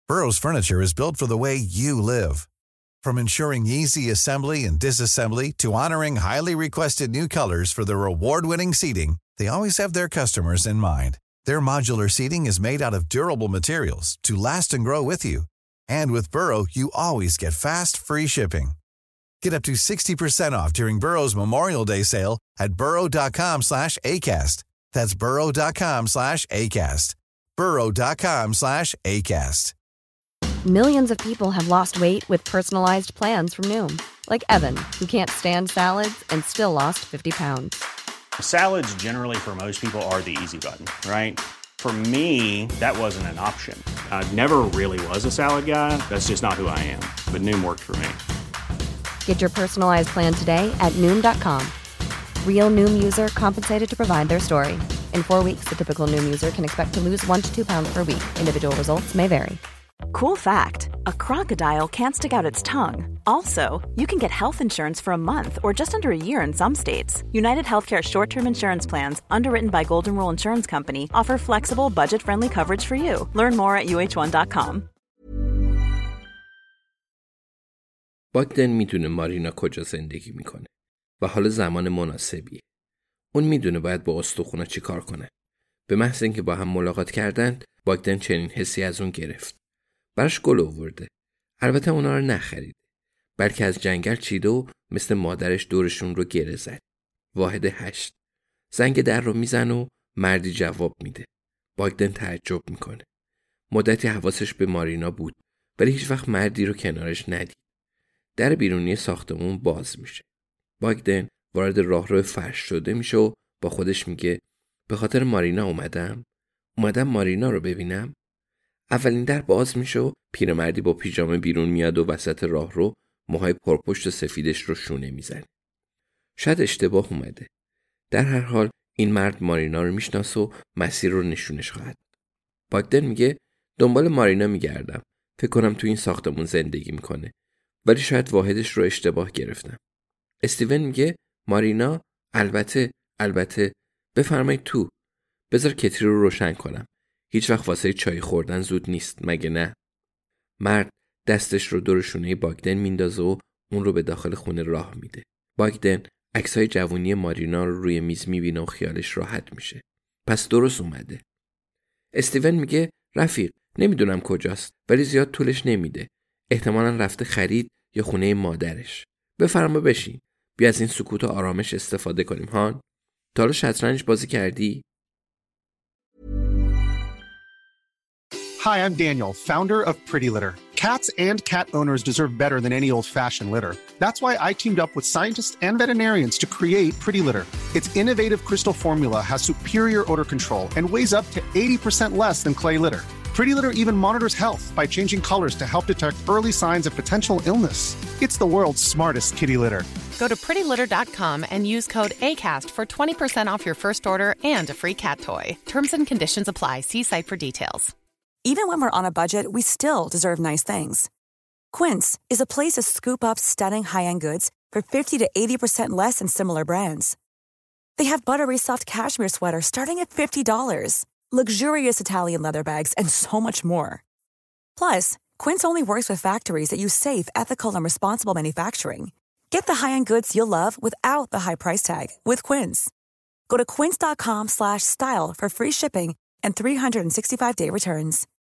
Burrow's furniture is built for the way you live. From ensuring easy assembly and disassembly to honoring highly requested new colors for their award-winning seating, they always have their customers in mind. Their modular seating is made out of durable materials to last and grow with you. And with Burrow, you always get fast, free shipping. Get up to 60% off during Burrow's Memorial Day sale at burrow.com/ACAST. That's burrow.com/ACAST. burrow.com/ACAST. Millions of people have lost weight with personalized plans from Noom. Like Evan, who can't stand salads and still lost 50 pounds. Salads generally for most people are the easy button, right? For me, that wasn't an option. I never really was a salad guy. That's just not who I am. But Noom worked for me. Get your personalized plan today at Noom.com. Real Noom user compensated to provide their story. In 4 weeks, the typical Noom user can expect to lose 1 to 2 pounds per week. Individual results may vary. Cool fact, a crocodile can't stick out its tongue. Also, you can get health insurance for a month or just under a year in some states. United Healthcare short-term insurance plans, underwritten by Golden Rule Insurance Company, offer flexible, budget-friendly coverage for you. Learn more at uh1.com. باگدن میدونه مارینا کجا زندگی میکنه و حالا زمان مناسبیه. اون میدونه باید با استخونا چی کار کنه. به محض اینکه با هم ملاقات کردند، باگدن چنین حسی از اون گرفت. براش گل آورده. البته اونا رو نخریده. بلکه از جنگل چیده و مثل مادرش دورشون رو گره زد. واحد 8. زنگ در رو میزن و مردی جواب میده. باگدن تعجب میکنه. مدتی حواسش به مارینا بود، ولی هیچ وقت مردی رو کنارش ندید. در بیرونی ساختمون باز میشه. باگدن وارد راهرو فرش شده میشه و با خودش میگه به خاطر مارینا اومدم مارینا رو ببینم. اولین در باز میشه و پیرمردی با پیژامه بیرون میاد و وسط راهرو موهای پرپشت و سفیدش رو شونه میزنه. شاید اشتباه اومده. در هر حال این مرد مارینا رو میشناسه و مسیر رو نشونش خواهد. باگدن میگه دنبال مارینا میگردم. فکر کنم تو این ساختمون زندگی میکنه. ولی شاید واحدش رو اشتباه گرفتم. استیون میگه مارینا البته بفرمایید تو. بذار کتری رو روشن کنم. هیچ وقت واسه چای خوردن زود نیست مگه نه؟ مرد دستش رو دور شونه باگدن میندازه و اون رو به داخل خونه راه میده. باگدن عکسای جوونی مارینا رو روی میز میبینه و خیالش راحت میشه. پس درست اومده. استیون میگه رفیق نمیدونم کجاست ولی زیاد طولش نمیده. احتمالاً رفته خرید یا خونه مادرش. بفرما بشین. بیا از این سکوت و آرامش استفاده کنیم هان. تا حالا شطرنج بازی کردی؟ Hi, I'm Daniel, founder of Pretty Litter. Cats and cat owners deserve better than any old-fashioned litter. That's why I teamed up with scientists and veterinarians to create Pretty Litter. Its innovative crystal formula has superior odor control and weighs up to 80% less than clay litter. Pretty Litter even monitors health by changing colors to help detect early signs of potential illness. It's the world's smartest kitty litter. Go to prettylitter.com and use code ACAST for 20% off your first order and a free cat toy. Terms and conditions apply. See site for details. Even when we're on a budget, we still deserve nice things. Quince is a place to scoop up stunning high-end goods for 50 to 80% less than similar brands. They have buttery soft cashmere sweaters starting at $50, luxurious Italian leather bags, and so much more. Plus, Quince only works with factories that use safe, ethical, and responsible manufacturing. Get the high-end goods you'll love without the high price tag with Quince. Go to quince.com/style for free shipping and 365-day returns.